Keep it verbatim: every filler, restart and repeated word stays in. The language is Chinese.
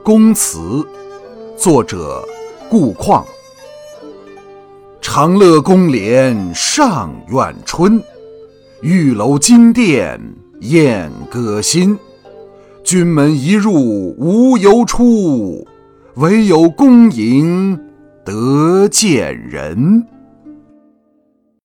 公祠，作者顾况。长乐宫帘上苑春，玉楼金殿燕歌新。君门一入无由出，唯有宫营得见人。